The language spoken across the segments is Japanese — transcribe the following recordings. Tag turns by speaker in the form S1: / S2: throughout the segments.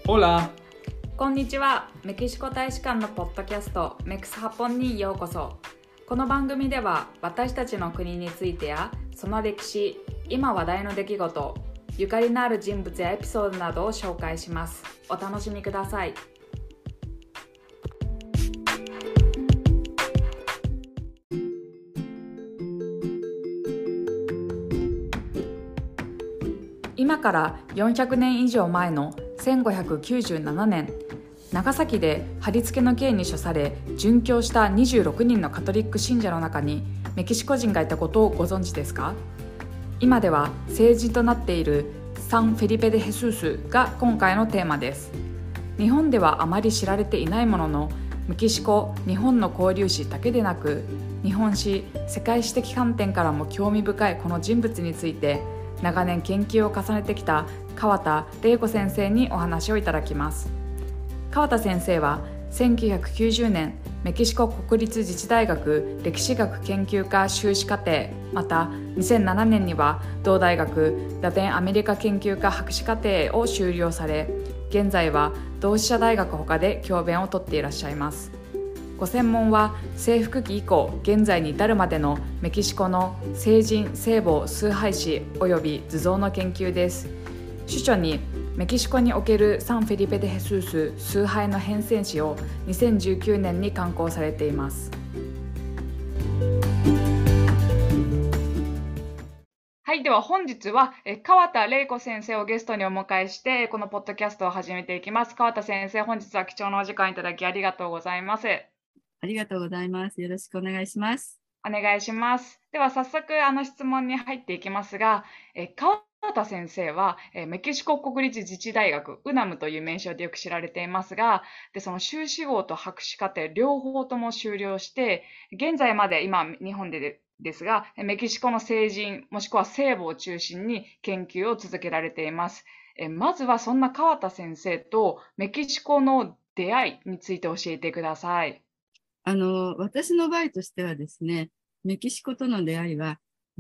S1: Hola!
S2: こんにちは。メキシコ大使館のポッドキャストメクスハポンにようこそ。この番組では私たちの国についてやその歴史、今話題の出来事、ゆかりのある人物やエピソードなどを紹介します。お楽しみください。今から400年以上前の1597年、長崎で貼り付けの刑に処され殉教した26人のカトリック信者の中にメキシコ人がいたことをご存知ですか？今では聖人となっているサン・フェリペ・デ・ヘスースが今回のテーマです。日本ではあまり知られていないものの、メキシコ・日本の交流史だけでなく、日本史・世界史的観点からも興味深いこの人物について長年研究を重ねてきた川田玲子先生にお話をいただきます。川田先生は1990年メキシコ国立自治大学歴史学研究科修士課程、また2007年には同大学ラテンアメリカ研究科博士課程を修了され、現在は同志社大学他で教鞭をとっていらっしゃいます。ご専門は征服期以降現在に至るまでのメキシコの聖人聖母崇拝史及び図像の研究です。主著にメキシコにおけるサン・フェリペ・デ・ヘスース崇拝の変遷史を2019年に刊行されています。はい、では本日は川田玲子先生をゲストにお迎えしてこのポッドキャストを始めていきます。川田先生、本日は貴重なお時間いただきありがとうございます。
S3: ありがとうございます。よろしくお願いします。
S2: お願いします。では早速質問に入っていきますが、川田先生はメキシコ国立自治大学ウナムという名称でよく知られていますが、その修士号と博士課程両方とも修了して、現在まで今日本ですが、メキシコの聖人もしくは聖母を中心に研究を続けられています。まずはそんな川田先生とメキシコの出会いについて教えてください。
S3: 私の場合としてはですね、メキシコとの出会いは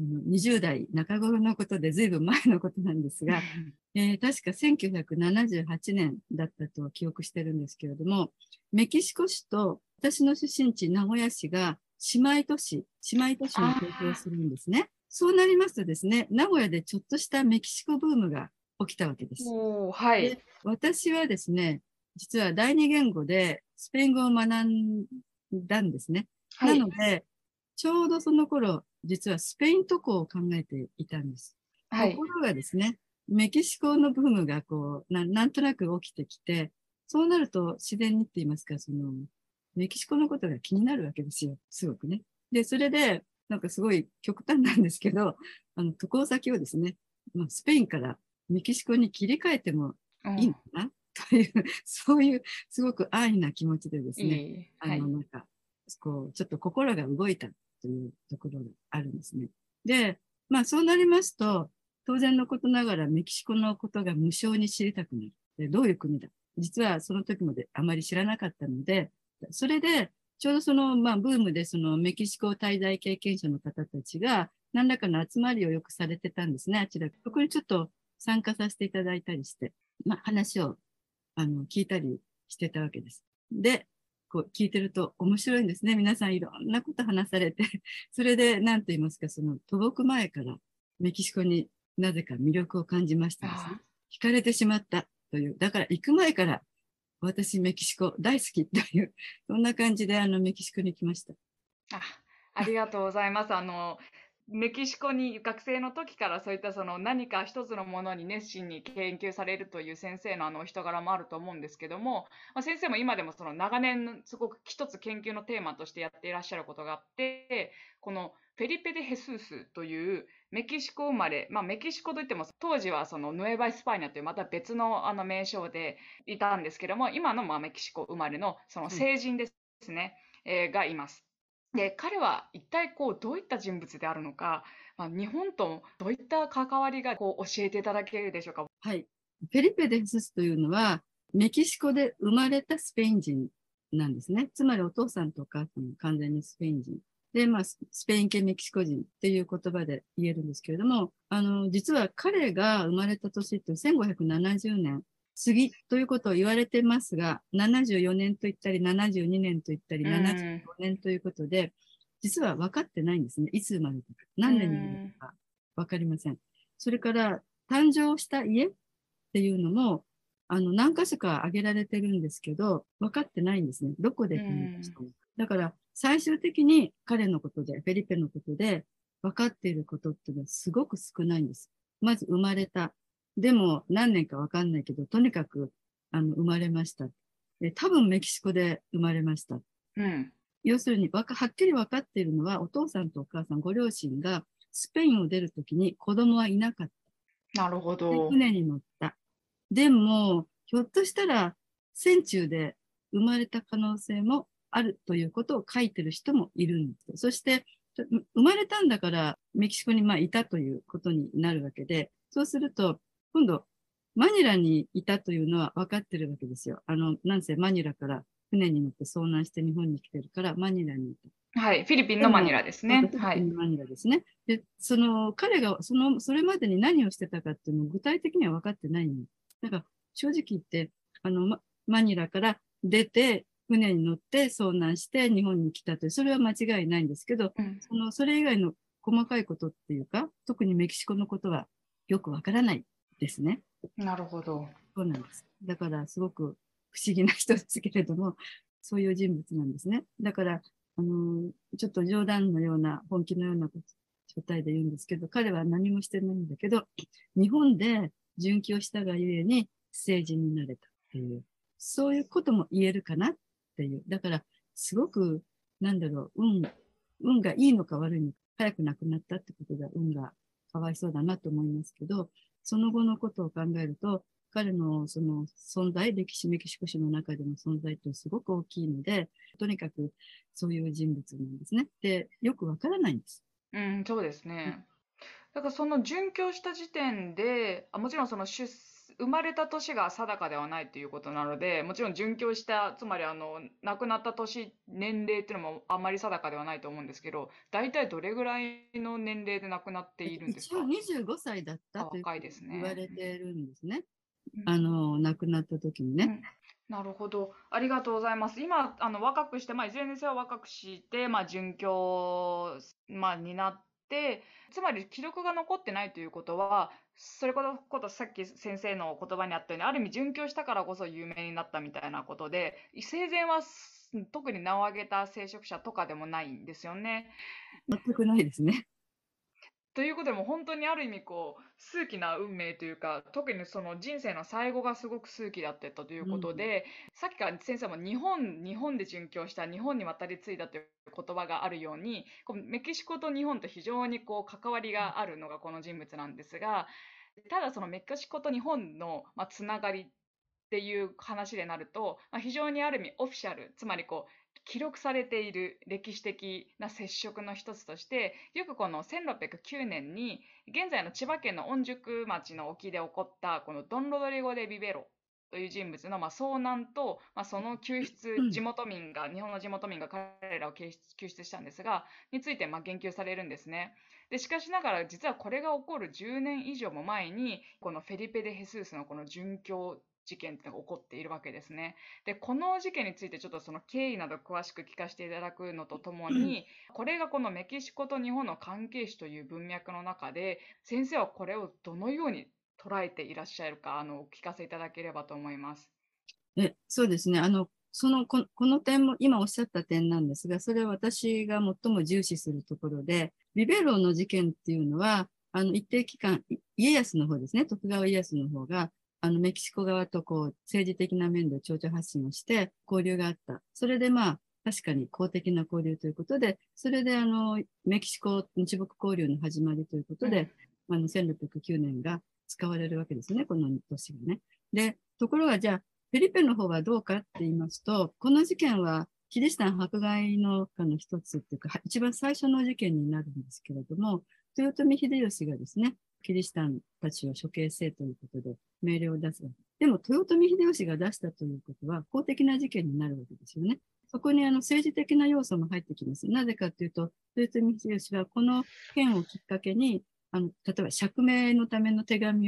S3: 20代中頃のことで随分前のことなんですが、確か1978年だったと記憶してるんですけれども、メキシコ市と私の出身地名古屋市が姉妹都市に提供するんですね。そうなりますとですね、名古屋でちょっとしたメキシコブームが起きたわけです。
S2: はい。
S3: で、私はですね、実は第二言語でスペイン語を学んだんですね。
S2: はい、
S3: なので、ちょうどその頃、実はスペイン渡航を考えていたんです。
S2: はい。
S3: ところがですね、メキシコのブームがなんとなく起きてきて、そうなると自然にって言いますか、メキシコのことが気になるわけですよ。すごくね。で、それで、なんかすごい極端なんですけど、渡航先をですね、スペインからメキシコに切り替えてもいいのかな、という、そういうすごく安易な気持ちでですね、
S2: はい。
S3: なんか、ちょっと心が動いたというところがあるんですね。で、そうなりますと、当然のことながらメキシコのことが無償に知りたくなる。で、どういう国だ。実はその時まであまり知らなかったので、それで、ちょうどブームでメキシコ滞在経験者の方たちが、何らかの集まりをよくされてたんですね、あちら。そこにちょっと参加させていただいたりして、話を聞いたりしてたわけです。で、聞いてると面白いんですね。皆さんいろんなこと話されて、それで何と言いますか、渡航前からメキシコになぜか魅力を感じましてですね、惹かれてしまったという、だから行く前から私メキシコ大好きという、そんな感じでメキシコに来ました。
S2: ありがとうございます。メキシコに学生の時からそういった何か一つのものに熱心に研究されるという先生の人柄もあると思うんですけども、先生も今でも長年すごく一つ研究のテーマとしてやっていらっしゃることがあって、このフェリペ・デ・ヘスースというメキシコ生まれ、メキシコといっても当時はヌエバ・エスパーニャというまた別の名称でいたんですけども、今のメキシコ生まれの聖人ですね、がいます。で、彼は一体どういった人物であるのか、日本とどういった関わりが教えていただけるでしょうか。
S3: はい。フェリペ・デヘススというのは、メキシコで生まれたスペイン人なんですね。つまりお父さんとお母さん完全にスペイン人。で、スペイン系メキシコ人っていう言葉で言えるんですけれども、実は彼が生まれた年って1570年次ということを言われてますが、74年と言ったり、72年と言ったり、75年ということで、実は分かってないんですね。いつ生まれたか、何年に生まれたか分かりません。それから、誕生した家っていうのも、何箇所か挙げられてるんですけど、分かってないんですね。どこで誕生したのか。だから、最終的に彼のことで、フェリペのことで、分かっていることっていうのはすごく少ないんです。まず生まれた。でも何年かわかんないけど、とにかく生まれました。多分メキシコで生まれました。要するにはっきり分かっているのは、お父さんとお母さん、ご両親がスペインを出るときに子供はいなかった。
S2: なるほど。
S3: で、船に乗った。でも、ひょっとしたら船中で生まれた可能性もあるということを書いてる人もいるんです。そして、生まれたんだからメキシコにいたということになるわけで、そうすると、今度、マニラにいたというのは分かってるわけですよ。なんせマニラから船に乗って遭難して日本に来てるから、マニラにい
S2: た。はい、フィリピンのマニラですね。
S3: フィリピンのマニラですね。で、彼がそれまでに何をしてたかっていうのを具体的には分かってないんです。だから、正直言って、マニラから出て、船に乗って遭難して日本に来たという、それは間違いないんですけど、それ以外の細かいことっていうか、特にメキシコのことはよくわからないですね。
S2: なるほど。
S3: そうなんです。だから、すごく不思議な人ですけれども、そういう人物なんですね。だから、ちょっと冗談のような、本気のような状態で言うんですけど、彼は何もしてないんだけど、日本で殉教したがゆえに政治になれたっていう、そういうことも言えるかなっていう。だから、すごく、運がいいのか悪いのか、早く亡くなったってことが運がかわいそうだなと思いますけど、その後のことを考えると、彼のその存在、メキシコ史の中での存在ってすごく大きいので、とにかくそういう人物なんですね。で、よくわからないんです。
S2: そうですね。だからその殉教した時点で、もちろんその生まれた年が定かではないということなので、もちろん殉教した、つまり亡くなった年、年齢っていうのもあんまり定かではないと思うんですけど、大体どれぐらいの年齢で亡くなっているんです
S3: 一応
S2: か
S3: 25歳だったというふうに
S2: 若いです
S3: 言わ
S2: ね。
S3: れてるんですね。
S2: うん
S3: 亡くなった時にね。
S2: なるほど。ありがとうございます。今、若くして、いずれにせよ若くして、殉教、になって、つまり記録が残ってないということは、それことさっき先生の言葉にあったように、ある意味殉教したからこそ有名になったみたいなことで、生前は特に名を挙げた聖職者とかでもないんですよね。
S3: 全くないですね。
S2: ということでも本当にある意味数奇な運命というか、特にその人生の最後がすごく数奇だったということで、さっきから先生も日本で殉教した日本に渡り継いだという言葉があるように、メキシコと日本と非常に関わりがあるのがこの人物なんですが、ただそのメキシコと日本のつながりっていう話でなると、非常にある意味オフィシャル、つまり記録されている歴史的な接触の一つとして、よくこの1609年に、現在の千葉県の御宿町の沖で起こったこのドン・ロドリゴ・デ・ビベロという人物の遭難と、その救出、日本の地元民が彼らを救出したんですが、について言及されるんですね。で、しかしながら実はこれが起こる10年以上も前に、このフェリペ・デ・ヘスースのこの殉教事件っていうのが起こっているわけですね。で、この事件についてちょっとその経緯など詳しく聞かせていただくのとともに、これがこのメキシコと日本の関係史という文脈の中で、先生はこれをどのように捉えていらっしゃるか、お聞かせいただければと思います。
S3: そうですね。この点も今おっしゃった点なんですが、それは私が最も重視するところで、ビベロの事件っていうのは、一定期間、家康の方ですね、徳川家康の方が、メキシコ側と政治的な面で情緒発信をして交流があった。それで確かに公的な交流ということで、それでメキシコ日北交流の始まりということで、1609年が使われるわけですね、この年がね。で、ところがじゃあ、フェリペの方はどうかって言いますと、この事件はキリシタン迫害の中の一つっていうか、一番最初の事件になるんですけれども、豊臣秀吉がですね、キリシタンたちを処刑せということで命令を出す。でも、豊臣秀吉が出したということは、公的な事件になるわけですよね。そこに政治的な要素も入ってきます。なぜかというと、豊臣秀吉はこの件をきっかけに、例えば釈明のための手紙を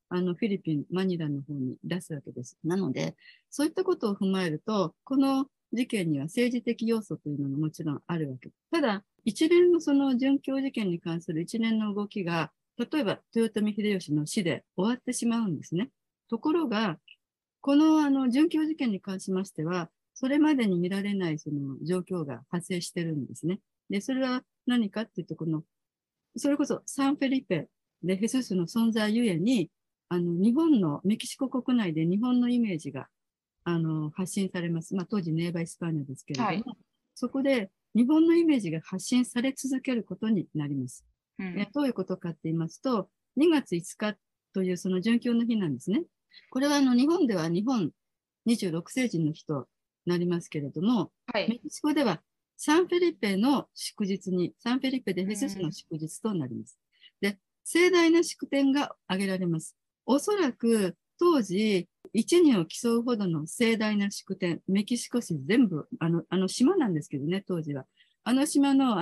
S3: フィリピン、マニラの方に出すわけです。なので、そういったことを踏まえると、この事件には政治的要素というのがもちろんあるわけです。ただ、一連のその殉教事件に関する一連の動きが、例えば豊臣秀吉の死で終わってしまうんですね。ところが、この殉教事件に関しましては、それまでに見られないその状況が発生してるんですね。で、それは何かっていうと、それこそサンフェリペでヘススの存在ゆえに、日本の、メキシコ国内で日本のイメージが、発信されます。まあ、当時ネーバーイスパーニャですけれども、
S2: はい。
S3: そこで日本のイメージが発信され続けることになります。
S2: うん。
S3: どういうことかって言いますと、2月5日というその殉教の日なんですね。これは日本では日本26世紀の日となりますけれども、
S2: はい。
S3: メキシコではサンフェリペの祝日に、サンフェリペでフェススの
S2: うん。
S3: 祝日となります。で、盛大な祝典が挙げられます。おそらく当時、一二を競うほどの盛大な祝典、メキシコ市全部、島なんですけどね、当時は。あの島の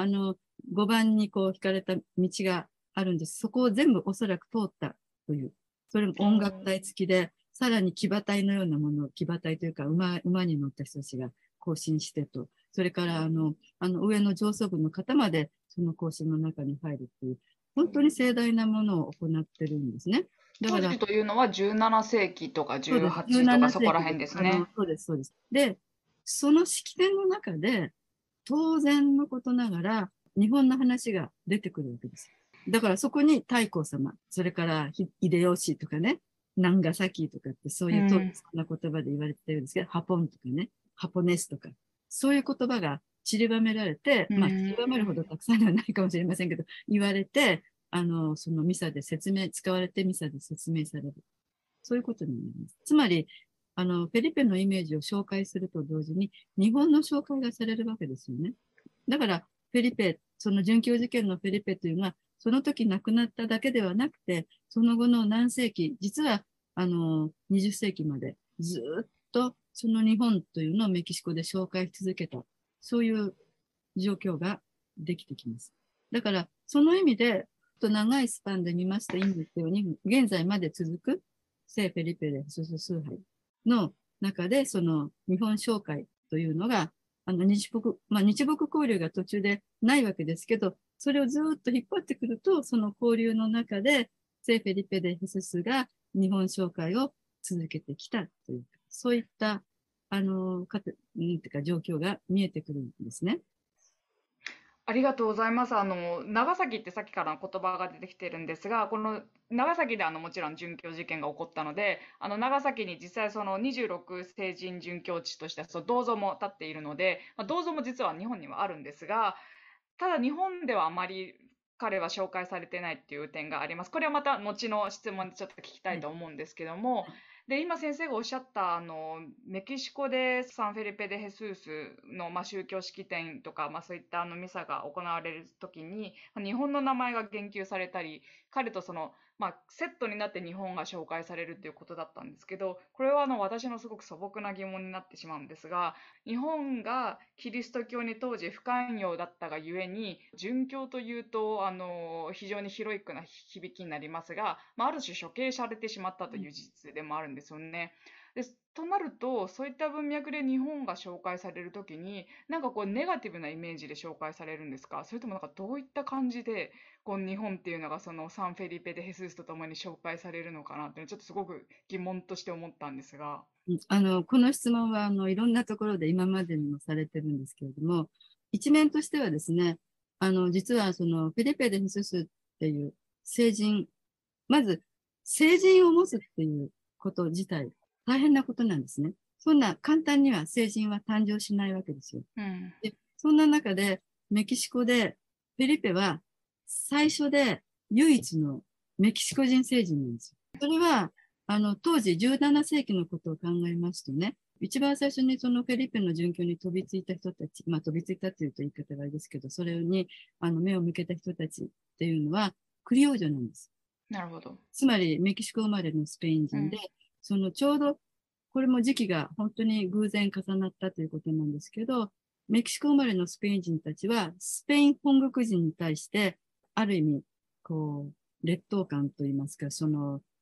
S3: 5番にこう引かれた道があるんです。そこを全部おそらく通ったという。それも音楽隊付きで、さらに騎馬隊のようなものを、騎馬隊というか馬に乗った人たちが行進してと、それから上の上層部の方までその行進の中に入るという、本当に盛大なものを行ってるんですね。だから、
S2: 当時というのは17世紀とか
S3: そうです。
S2: 18とか
S3: 17
S2: そこら
S3: 世紀です。
S2: 辺ですね。
S3: そうです、そうです。で、その式典の中で、当然のことながら、日本の話が出てくるわけです。だからそこに太閤様、それから秀吉とかね、長崎とかってそういう当時
S2: うん。
S3: そんな言葉で言われてるんですけど、ハポンとかね、ハポネスとか、そういう言葉が散りばめられて、
S2: う
S3: まあ散りばめるほ
S2: ん。
S3: どたくさんではないかもしれませんけど、言われて、そのミサで使われてミサで説明される。そういうことになります。つまり、フェリペのイメージを紹介すると同時に、日本の紹介がされるわけですよね。だから、フェリペ、その殉教事件のフェリペというのは、その時亡くなっただけではなくて、その後の何世紀、実は、20世紀までずっとその日本というのをメキシコで紹介し続けた、そういう状況ができてきます。だから、その意味で、長いスパンで見ますといいんですように、現在まで続く聖フェリペでスス崇拝の中で、その日本紹介というのが、日木交流が途中でないわけですけど、それをずっと引っ張ってくると、その交流の中で、聖フェリペでヘススが日本紹介を続けてきたというか、そういった、なんていうか状況が見えてくるんですね。
S2: ありがとうございます。長崎ってさっきから言葉が出てきてるんですが、この長崎でもちろん殉教事件が起こったので、長崎に実際その26聖人殉教地としてその銅像も建っているので、銅像も実は日本にはあるんですが、ただ日本ではあまり彼は紹介されてないっていう点があります。これはまた後の質問でちょっと聞きたい
S3: はい。
S2: と思うんですけども、で、今先生がおっしゃったメキシコでサンフェリペ・デ・ヘスースの、宗教式典とか、そういったミサが行われる時に、日本の名前が言及されたり、彼とその、セットになって日本が紹介されるっていうことだったんですけど、これは私のすごく素朴な疑問になってしまうんですが、日本がキリスト教に当時不寛容だったがゆえに、殉教というと非常にヒロイックな響きになりますが、ある種処刑されてしまったという事実でもあるんですよね。でとなると、そういった文脈で日本が紹介されるときに、なんかこうネガティブなイメージで紹介されるんですか？それともなんかどういった感じでこう日本っていうのがそのサンフェリペ・デ・ヘスースとともに紹介されるのかなってちょっとすごく疑問として思ったんですが。
S3: この質問は、いろんなところで今までにもされてるんですけれども、一面としてはですね、実はそのフィリペ・デ・ヘススっていう聖人、まず聖人を持つっていうこと自体、大変なことなんですね。そんな簡単には聖人は誕生しないわけですよ。
S2: うん。
S3: で、そんな中で、メキシコで、フェリペは最初で唯一のメキシコ人聖人なんですよ。それは、当時17世紀のことを考えますとね、一番最初にそのフェリペの殉教に飛びついた人たち、飛びついたというと言い方があれですけど、それに目を向けた人たちっていうのは、クリオージョなんです。
S2: なるほど。
S3: つまりメキシコ生まれのスペイン人で、
S2: うん。
S3: そのちょうど、これも時期が本当に偶然重なったということなんですけど、メキシコ生まれのスペイン人たちは、スペイン本国人に対して、ある意味、こう、劣等感といいますか、その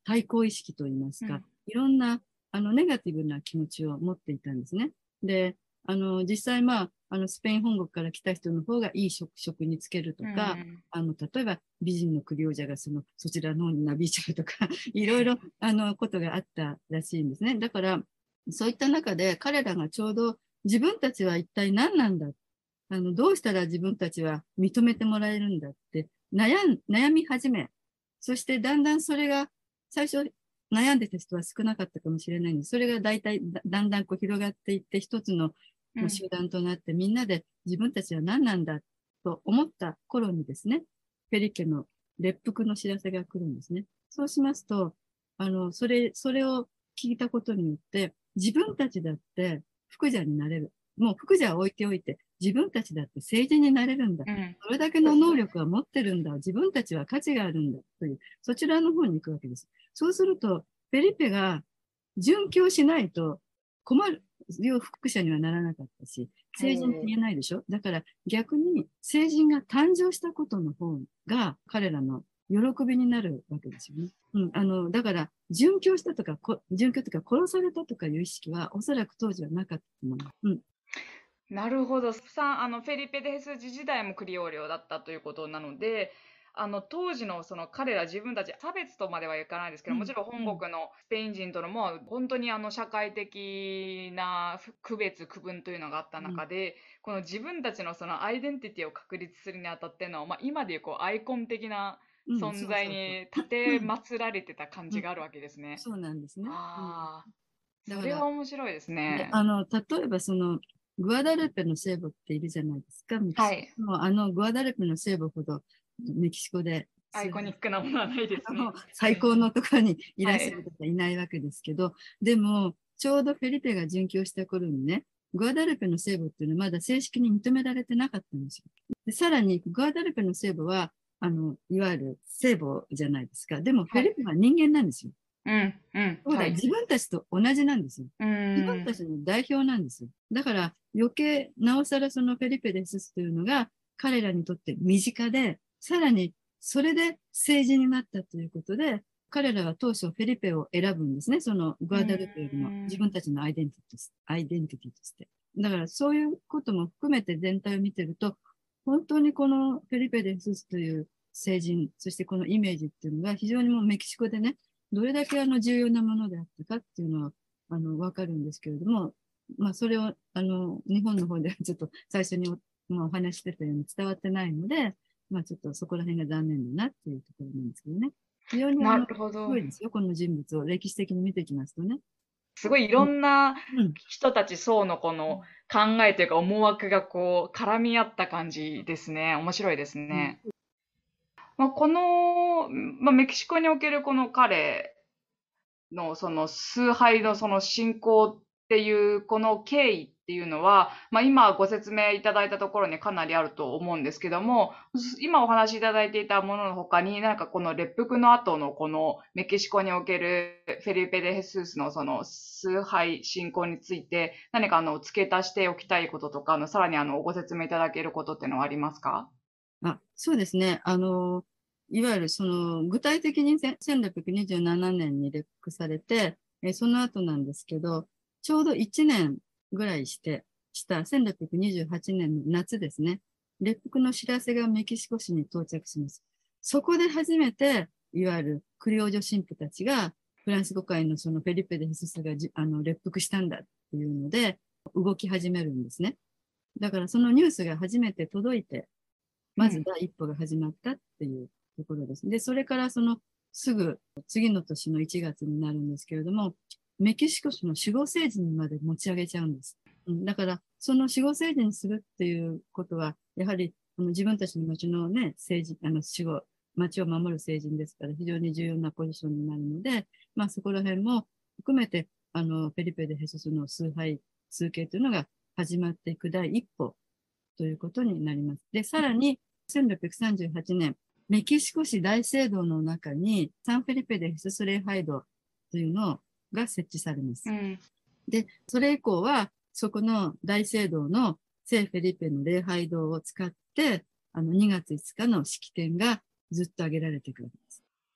S3: 対抗意識といいますか、
S2: うん
S3: いろんなネガティブな気持ちを持っていたんですね。で、実際、スペイン本国から来た人の方がいい職に就けると
S2: う
S3: か、
S2: ん
S3: 例えば美人の首王者がそちらの方になびいちゃうとか、いろいろ、ことがあったらしいんですね。だから、そういった中で彼らがちょうど自分たちは一体何なんだ、どうしたら自分たちは認めてもらえるんだって悩み始め、そしてだんだんそれが最初悩んでた人は少なかったかもしれないんです。それがだんだんこう広がっていって一つの集団となってみんなで自分たちは何なんだと思った頃にですね、フェリケの列服の知らせが来るんですね。そうしますと、それを聞いたことによって、自分たちだって福者になれる。もう福者は置いておいて、自分たちだって聖人になれるんだ。
S2: うん
S3: それだけの能力は持ってるんだ。自分たちは価値があるんだ。という、そちらの方に行くわけです。そうすると、フェリペが殉教しないと困る、要福者にはならなかったし、聖人って言えないでしょ。だから逆に聖人が誕生したことの方が彼らの喜びになるわけですよね。だから、殉教したとか、殉教とか殺されたとかいう意識はおそらく当時はなかったと思います。
S2: なるほど。フェリペ・デ・ヘスジ時代もクリオー領だったということなので、当時のその彼ら自分たち、差別とまではいかないですけど、もちろん本国のスペイン人とのも本当に社会的な区別、区分というのがあった中で、この自分たちのそのアイデンティティを確立するにあたっての、今でいうこうアイコン的な存在に立て祀られてた感じがあるわけですね。
S3: そうなんですね。
S2: ああ、それ
S3: だから、
S2: は面白いですね。
S3: 例えばグアダルペの聖母っているじゃないですか、メキシ
S2: はい。
S3: コの。グアダルペの聖母ほどメキシコで
S2: アイコニックなものはないですね。
S3: 最高のところにいらっしゃ
S2: はい。
S3: る方いないわけですけど、でも、ちょうどフェリペが殉教した頃にね、グアダルペの聖母っていうのはまだ正式に認められてなかったんですよ。でさらに、グアダルペの聖母は、いわゆる聖母じゃないですか。でも、フェリペは人間なんですよ。
S2: うん、うん、
S3: そうだ、
S2: はい。
S3: 自分たちと同じなんですよ。
S2: う
S3: 自分
S2: ん、
S3: たちの代表なんですよ。だから余計、なおさらそのフェリペ・デススというのが彼らにとって身近で、さらにそれで政治になったということで、彼らは当初フェリペを選ぶんですね。そのグアダルペよりも自分たちのアイデンティティとして。だからそういうことも含めて全体を見てると、本当にこのフェリペ・デススという聖人、そしてこのイメージっていうのが非常にもうメキシコでね、どれだけ重要なものであったかっていうのは、わかるんですけれども、それを、日本の方ではちょっと最初にお話してたように伝わってないので、ちょっとそこら辺が残念だなっていうところなんですけどね。非常に
S2: なるほ
S3: す
S2: ど。
S3: ごいですよ、この人物を歴史的に見ていきますとね。
S2: すごいいろんな
S3: うん。
S2: 人たち層のこの考えというか思惑がこう絡み合った感じですね。面白いです
S3: うん。
S2: ね。この、メキシコにおけるこの彼のその崇拝のその信仰っていうこの経緯っていうのは、今ご説明いただいたところにかなりあると思うんですけども、今お話しいただいていたものの他に、なんかこの列服の後のこのメキシコにおけるフェリペ・デ・ヘスースのその崇拝信仰について、何か付け足しておきたいこととか、さらにご説明いただけることっていうのはありますか？
S3: そうですね。いわゆる具体的に1627年に列服されて、その後なんですけど、ちょうど1年ぐらいした1628年の夏ですね。列服の知らせがメキシコ市に到着します。そこで初めて、いわゆるクリオージョ神父たちが、フランス語界のそのフェリペ・デ・ヘススが列服したんだっていうので、動き始めるんですね。だからそのニュースが初めて届いて、まず第一歩が始まったっていうところです。で、それからすぐ次の年の1月になるんですけれども、メキシコ市の守護聖人にまで持ち上げちゃうんです。だから、その守護聖人にするっていうことは、やはり自分たちの町のね、町を守る聖人ですから、非常に重要なポジションになるので、そこら辺も含めて、フェリペ・デ・ヘススの崇敬というのが始まっていく第一歩ということになります。で、さらに、1638年、メキシコ市大聖堂の中にサンフェリペでヘスス礼拝堂というのが設置されます。で、それ以降は、そこの大聖堂の聖フェリペの礼拝堂を使って、2月5日の式典がずっと挙げられていくわけです。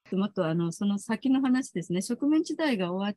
S3: もっとその先の話ですね。植民地時代が終わって、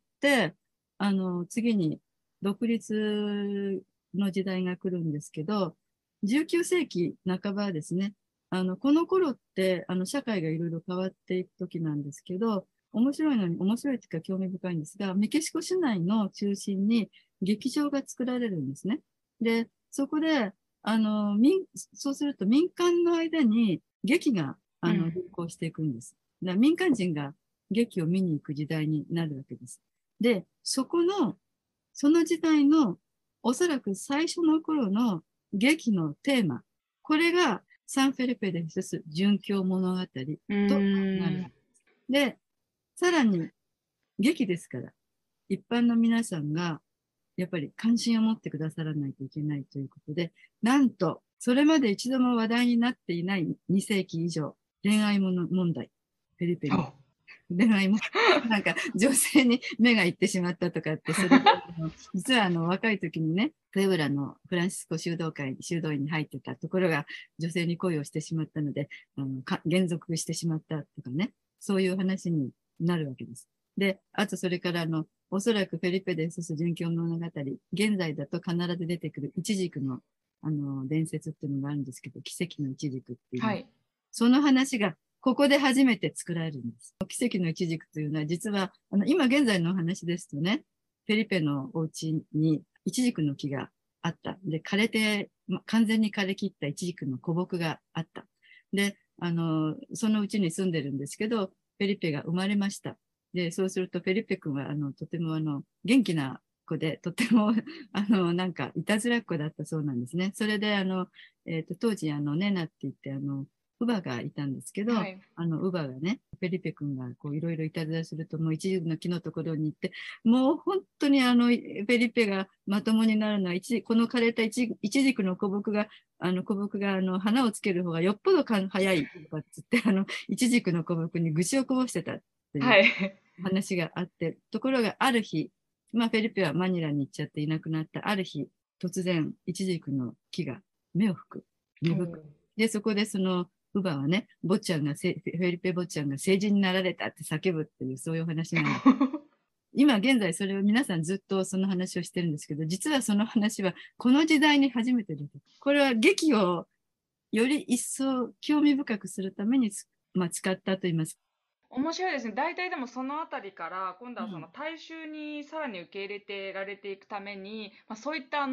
S3: 次に独立の時代が来るんですけど、19世紀半ばですね。この頃って、社会がいろいろ変わっていく時なんですけど、面白いのに、面白いというか興味深いんですが、メキシコ市内の中心に劇場が作られるんですね。で、そこで、そうすると民間の間に劇が、流行していくんです。だから民間人が劇を見に行く時代になるわけです。で、その時代の、おそらく最初の頃の劇のテーマ、これがサンフェルペで進す殉教物語となる。で、さらに劇ですから、一般の皆さんがやっぱり関心を持ってくださらないといけないということで、なんと、それまで一度も話題になっていない2世紀以上、恋愛問題、フェリペに。恋愛も、なんか女性に目がいってしまったとかって、それで実は若い時にね、プエブラのフランシスコ修道院に入ってたところが女性に恋をしてしまったので、減俗してしまったとかね、そういう話になるわけです。で、あとそれからおそらくフェリペで進す殉教物語、現在だと必ず出てくるイチジクの伝説っていうのがあるんですけど、奇跡のイチジクっていう、
S2: はい、
S3: その話がここで初めて作られるんです。奇跡のイチジクというのは、実は、今現在のお話ですとね、フェリペのお家にイチジクの木があった。で、完全に枯れ切ったイチジクの古木があった。で、そのうちに住んでるんですけど、フェリペが生まれました。で、そうするとフェリペ君は、とても元気な子で、とても、なんか、いたずらっ子だったそうなんですね。それで、当時、ネナって言って、乳母がいたんですけど、
S2: はい、
S3: 乳母がね、フェリペ君がこういろいろいたずらすると、もう一時の木のところに行って、もう本当にフェリペがまともになるのは、この枯れたイチジクの古木が、花をつける方がよっぽど早いとかっつって、イチジクの古木に愚痴をこぼしてたっていう
S2: はい、
S3: 話があって、ところがある日、まあ、フェリペはマニラに行っちゃっていなくなったある日、突然、イチジクの木が芽を吹く、芽吹く。で、そこで乳母はね、フェリペ坊ちゃんが成人になられたって叫ぶっていう、そういう話なんです。今現在それを皆さんずっとその話をしてるんですけど、実はその話はこの時代に初めて出てくる。これは劇をより一層興味深くするために使ったと言います。
S2: 面白いですね。大体でもそのあたりから今度はその大衆にさらに受け入れてられていくために、そういった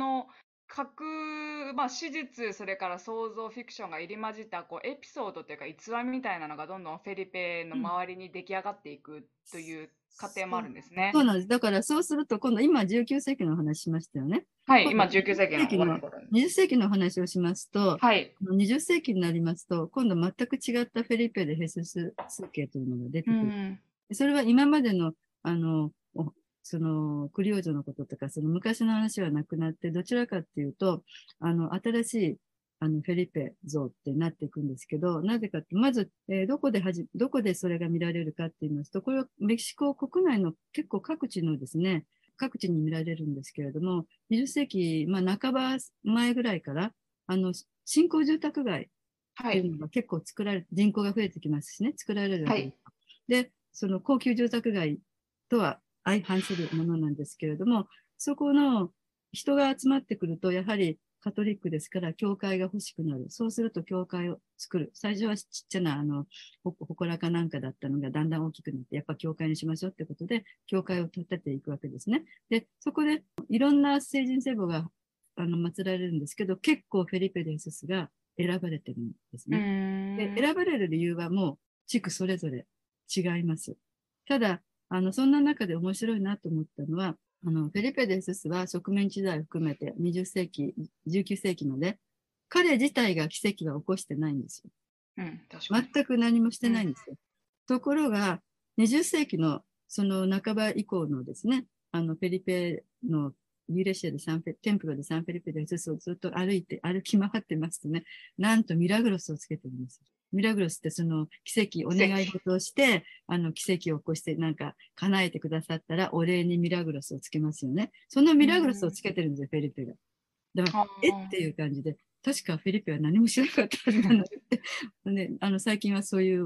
S2: 史実、それから想像、フィクションが入り混じったエピソードというか逸話みたいなのがどんどんフェリペの周りに出来上がっていくという過程もあるんですね。
S3: そうなんです。だからそうすると今度、今19世紀の話しましたよね。
S2: はい、今19世紀の終わり頃に。
S3: 20世紀の話をしますと、
S2: はい。
S3: 20世紀になりますと、今度全く違ったフェリペでヘスス数形というのが出てくる。それは今までの、そのクリオージョのこととか、その昔の話はなくなって、どちらかっていうと、新しいフェリペ像ってなっていくんですけど、なぜかって、まず、どこでそれが見られるかって言いますと、これはメキシコ国内の結構各地のですね、各地に見られるんですけれども、20世紀、半ば前ぐらいから、新興住宅街っていうのが結構人口が増えてきますしね、作られるわけです。で、その高級住宅街とは相反するものなんですけれども、そこの人が集まってくると、やはりカトリックですから、教会が欲しくなる。そうすると、教会を作る。最初はちっちゃな、祠かなんかだったのが、だんだん大きくなって、やっぱ教会にしましょうってことで、教会を建てていくわけですね。で、そこで、いろんな聖人聖母が、祀られるんですけど、結構フェリペデスが選ばれてるんですね。で、選ばれる理由はもう、地区それぞれ違います。ただ、そんな中で面白いなと思ったのは、フェリペデスは植民地時代を含めて20世紀、19世紀まで、彼自体が奇跡は起こしてないんですよ。全く何もしてないんですよ。ところが、20世紀のその半ば以降のですね、フェリペのユーレシアでテンプロでサンフェリペデスをずっと歩き回ってますとね、なんとミラグロスをつけてるんですよ。ミラグロスってその奇跡、お願い事をして、奇跡を起こしてなんか叶えてくださったらお礼にミラグロスをつけますよね。そのミラグロスをつけてるんですよ、フェリペが。だから、っていう感じで、確かフェリペは何もしなかったはずなので、ね、最近はそういう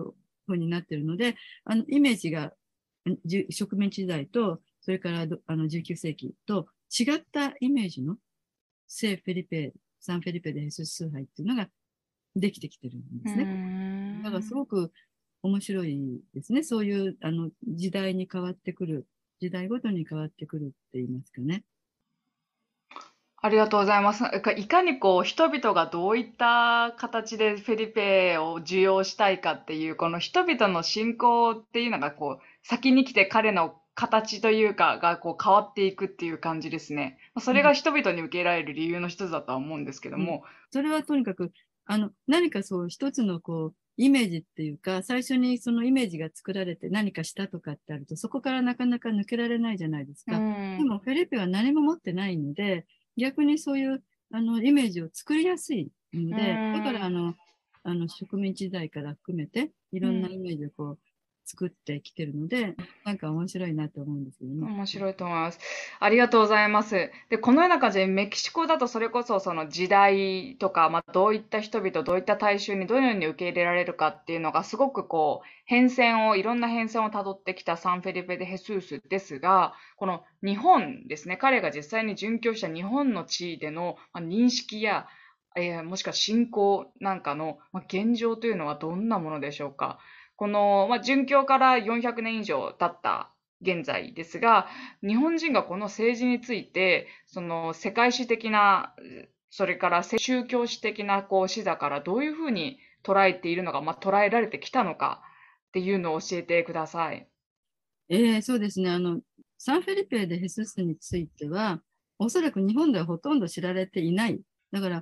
S3: 風になっているので、イメージが植民地時代と、それから19世紀と違ったイメージの聖フェリペ、サンフェリペでヘスス崇拝っていうのができてきてるんですね。だからすごく面白いですね。そういう時代に変わってくる、時代ごとに変わってくるって言いますかね。
S2: ありがとうございます。いかにこう人々がどういった形でフェリペを受容したいかっていう、この人々の信仰っていうのがこう先に来て彼の形というかがこう変わっていくっていう感じですね。それが人々に受け入れられる理由の一つだとは思うんですけど
S3: うん、
S2: も。
S3: それはとにかく、何かそう一つのこう、イメージっていうか、最初にそのイメージが作られて何かしたとかってあると、そこからなかなか抜けられないじゃないです
S2: う
S3: か。で
S2: ん。
S3: も、フェリペは何も持ってないので、逆にそういう、イメージを作りやすいの
S2: う
S3: で、だから
S2: ん。
S3: 植民地時代から含めて、いろんな
S2: うん。
S3: イメージをこう、作ってきてるので、なんか面白いなと思うんですけどね。
S2: 面白いと思います。ありがとうございます。で、このような感じでメキシコだとそれこそその時代とか、どういった人々、どういった大衆にどのように受け入れられるかっていうのがすごくこう、いろんな変遷をたどってきたサンフェリペ・デ・ヘスースですが、この日本ですね、彼が実際に殉教した日本の地位での認識や、もしくは信仰なんかの現状というのはどんなものでしょうか。この、殉教から400年以上経った現在ですが、日本人がこの政治について、その世界史的な、それから宗教史的なこう視座からどういうふうに捉えているのか、捉えられてきたのかっていうのを教えてください。
S3: そうですね。サンフェリペ・デ・ヘススについては、おそらく日本ではほとんど知られていない。だから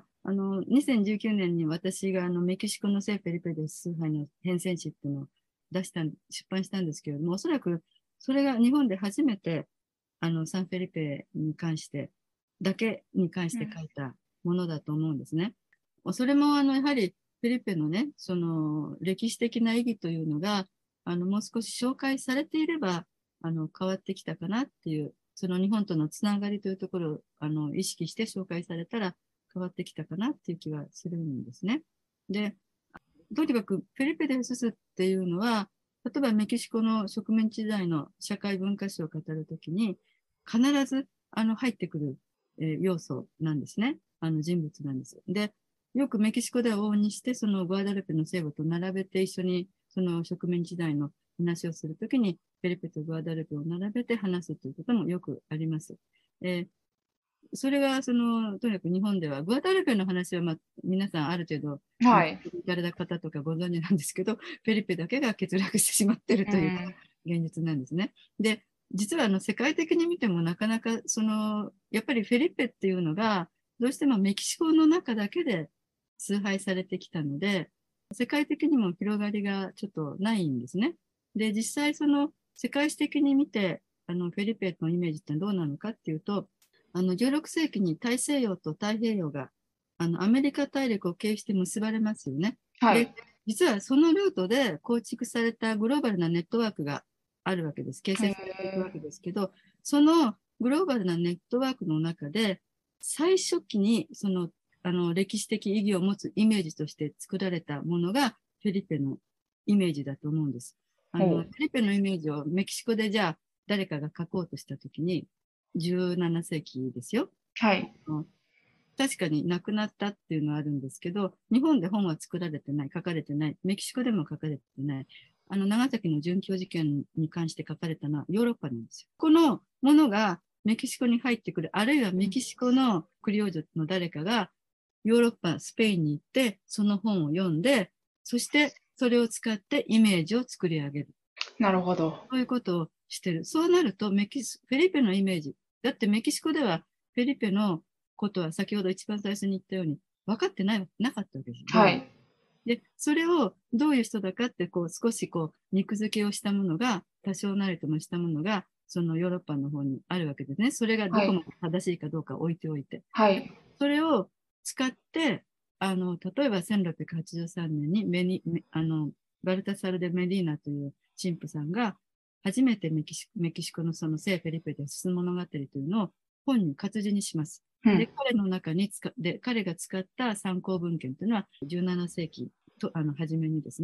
S3: 、2019年に私がメキシコの聖フェリペ・デ・ヘスス杯の変遷誌っていうのを出版したんですけれども、おそらくそれが日本で初めて、サンフェリペに関して、だけに関して
S2: うん。
S3: 書いたものだと思うんですね。それも、やはり、フェリペのね、その歴史的な意義というのが、もう少し紹介されていれば、変わってきたかなっていう、その日本とのつながりというところを、意識して紹介されたら変わってきたかなっていう気はするんですね。で、とにかくフェリペ・デ・ヘススっていうのは、例えばメキシコの植民地時代の社会文化史を語るときに、必ず入ってくる、要素なんですね。人物なんです。で、よくメキシコでは往々にして、そのグアダルペの聖母と並べて一緒にその植民地時代の話をするときに、フェリペとグアダルペを並べて話すということもよくあります。それが、とにかく日本では、グアダルペの話は、皆さんある程度、
S2: はい。
S3: 行かれた方とかご存知なんですけど、フェリペだけが欠落してしまっているというのが
S2: うん。
S3: 現実なんですね。で、実は世界的に見てもなかなか、やっぱりフェリペっていうのが、どうしてもメキシコの中だけで崇拝されてきたので、世界的にも広がりがちょっとないんですね。で、実際世界史的に見て、フェリペのイメージってどうなのかっていうと、16世紀に大西洋と太平洋がアメリカ大陸を経由して結ばれますよね。で、
S2: はい。
S3: 実はそのルートで構築されたグローバルなネットワークがあるわけです。形成されていくわけですけど、そのグローバルなネットワークの中で、最初期に歴史的意義を持つイメージとして作られたものがフェリペのイメージだと思うんです。フェ
S2: ほう。
S3: リペのイメージをメキシコでじゃあ誰かが書こうとしたときに、17世紀ですよ。
S2: はい。
S3: 確かに亡くなったっていうのはあるんですけど、日本で本は作られてない、書かれてない、メキシコでも書かれてない、長崎の殉教事件に関して書かれたのはヨーロッパなんですよ。このものがメキシコに入ってくる、あるいはメキシコのクリオージョの誰かがヨーロッパ、スペインに行って、その本を読んで、そしてそれを使ってイメージを作り上げる。
S2: なるほど。
S3: そういうことをしてる。そうなるとフェリペのイメージ。だってメキシコではフェリペのことは先ほど一番最初に言ったように分かってなかったわけです。どういう。
S2: はい。
S3: で、それをどういう人だかって少し肉付けをしたものが、多少なりともしたものが、そのヨーロッパの方にあるわけですね。それがど
S2: はい。
S3: こまで正しいかどうか置いておいて。で
S2: はい。
S3: それを使って、例えば1683年にバルタサル・デ・メリーナという神父さんが、初めてメキシコのその聖フェリペで進む物語というのを本に活字にします。で、
S2: うん。
S3: 彼の中に彼が使った参考文献というのは17世紀と、初めにですね、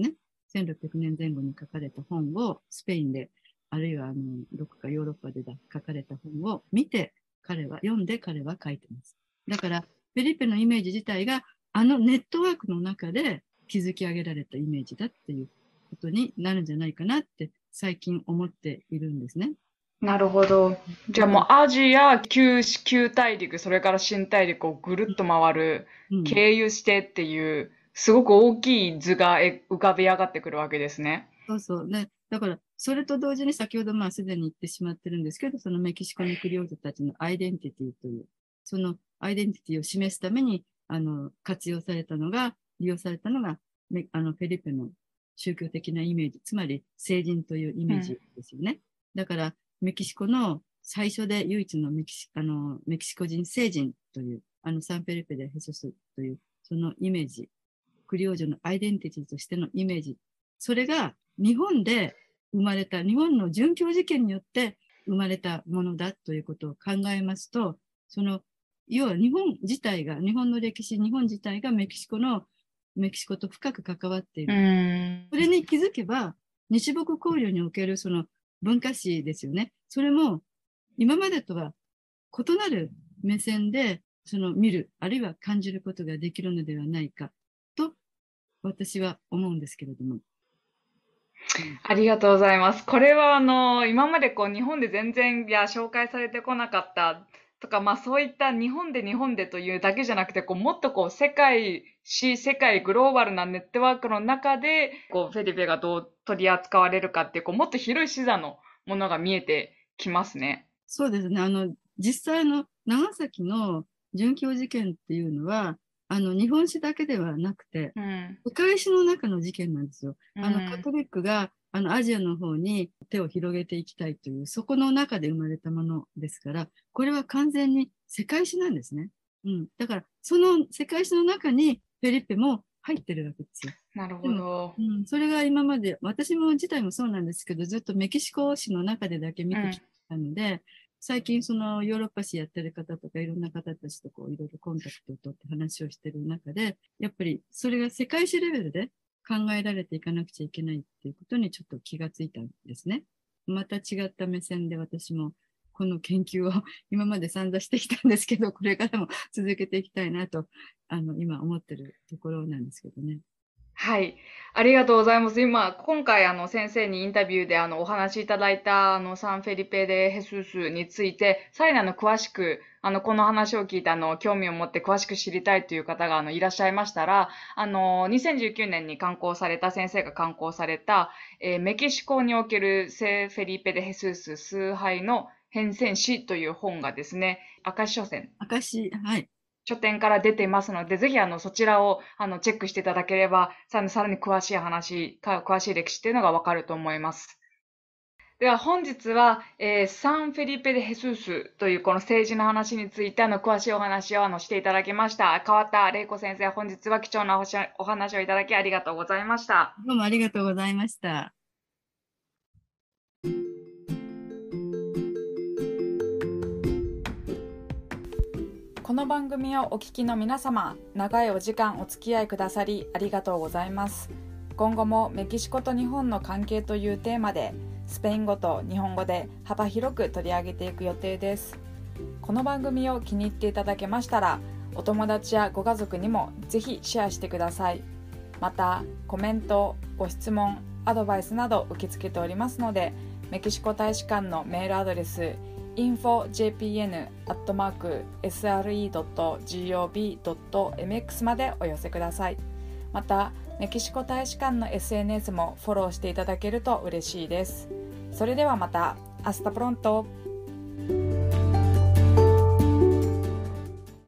S3: 1600年前後に書かれた本をスペインで、あるいはどこかヨーロッパで書かれた本を見て、読んで彼は書いてます。だから、フェリペのイメージ自体が、ネットワークの中で築き上げられたイメージだっていうことになるんじゃないかなって最近思っているんですね。
S2: なるほど。じゃあもうアジア、旧大陸、それから新大陸をぐるっと回る、経由してっていう、すごく大きい図が浮かび上がってくるわけですね。
S3: そうそう。ね。だから、それと同時に先ほどすでに言ってしまってるんですけど、そのメキシコのクリオージョたちのアイデンティティという、そのアイデンティティを示すために、利用されたのが、フェリペの宗教的なイメージ、つまり聖人というイメージですよね。だから、メキシコの最初で唯一のメキシコ人聖人という、サンフェリペでヘソスという、そのイメージ、クリオージョのアイデンティティとしてのイメージ、それが日本で生まれた、日本の殉教事件によって生まれたものだということを考えますと、要は日本自体が、日本の歴史、日本自体がメキシコと深く関わっている。それに気づけば、日木交流におけるその文化史ですよね。それも今までとは異なる目線で見る、あるいは感じることができるのではないかと私は思うんですけれども。
S2: ありがとうございます。これは今まで日本で全然紹介されてこなかったとか、そういった日本でというだけじゃなくて、もっと世界グローバルなネットワークの中で、フェリペがどう取り扱われるかっていう、もっと広い視座のものが見えてきますね。
S3: そうですね。実際長崎の殉教事件っていうのは、日本史だけではなくて、世界史の中の事件なんですよ。カトリックがアジアの方に手を広げていきたいという、そこの中で生まれたものですから、これは完全に世界史なんですね。だから、その世界史の中にフェリペも入ってるわけですよ。
S2: なるほど。
S3: それが今まで、私も自体もそうなんですけど、ずっとメキシコ史の中でだけ見てきたので、最近ヨーロッパ史やってる方とかいろんな方たちといろいろコンタクトを取って話をしてる中で、やっぱりそれが世界史レベルで考えられていかなくちゃいけないっていうことにちょっと気がついたんですね。また違った目線で私もこの研究を今まで散々してきたんですけど、これからも続けていきたいなと、今思ってるところなんですけどね。
S2: はい。ありがとうございます。今回先生にインタビューでお話しいただいたサンフェリペ・デ・ヘスースについて、さらに詳しく、この話を聞いて興味を持って詳しく知りたいという方がいらっしゃいましたら、2019年に先生が刊行された、メキシコにおける聖フェリペ・デ・ヘスース崇拝の変遷史という本がですね、明石書店。
S3: はい。
S2: 書店から出ていますので、ぜひそちらをチェックしていただければ、さらに詳しい歴史っていうのがわかると思います。では本日は、サンフェリペ・デ・ヘスースというこの政治の話について詳しいお話をしていただきました。川田玲子先生、本日は貴重なお話をいただきありがとうございました。
S3: どうもありがとうございました。
S2: この番組をお聞きの皆様、長いお時間お付き合いくださりありがとうございます。今後もメキシコと日本の関係というテーマで、スペイン語と日本語で幅広く取り上げていく予定です。この番組を気に入っていただけましたら、お友達やご家族にもぜひシェアしてください。また、コメント、ご質問、アドバイスなど受け付けておりますので、メキシコ大使館のメールアドレスinfojpn@sre.gov.mx までお寄せください。また、メキシコ大使館の SNS もフォローしていただけると嬉しいです。それではまた。Hasta pronto!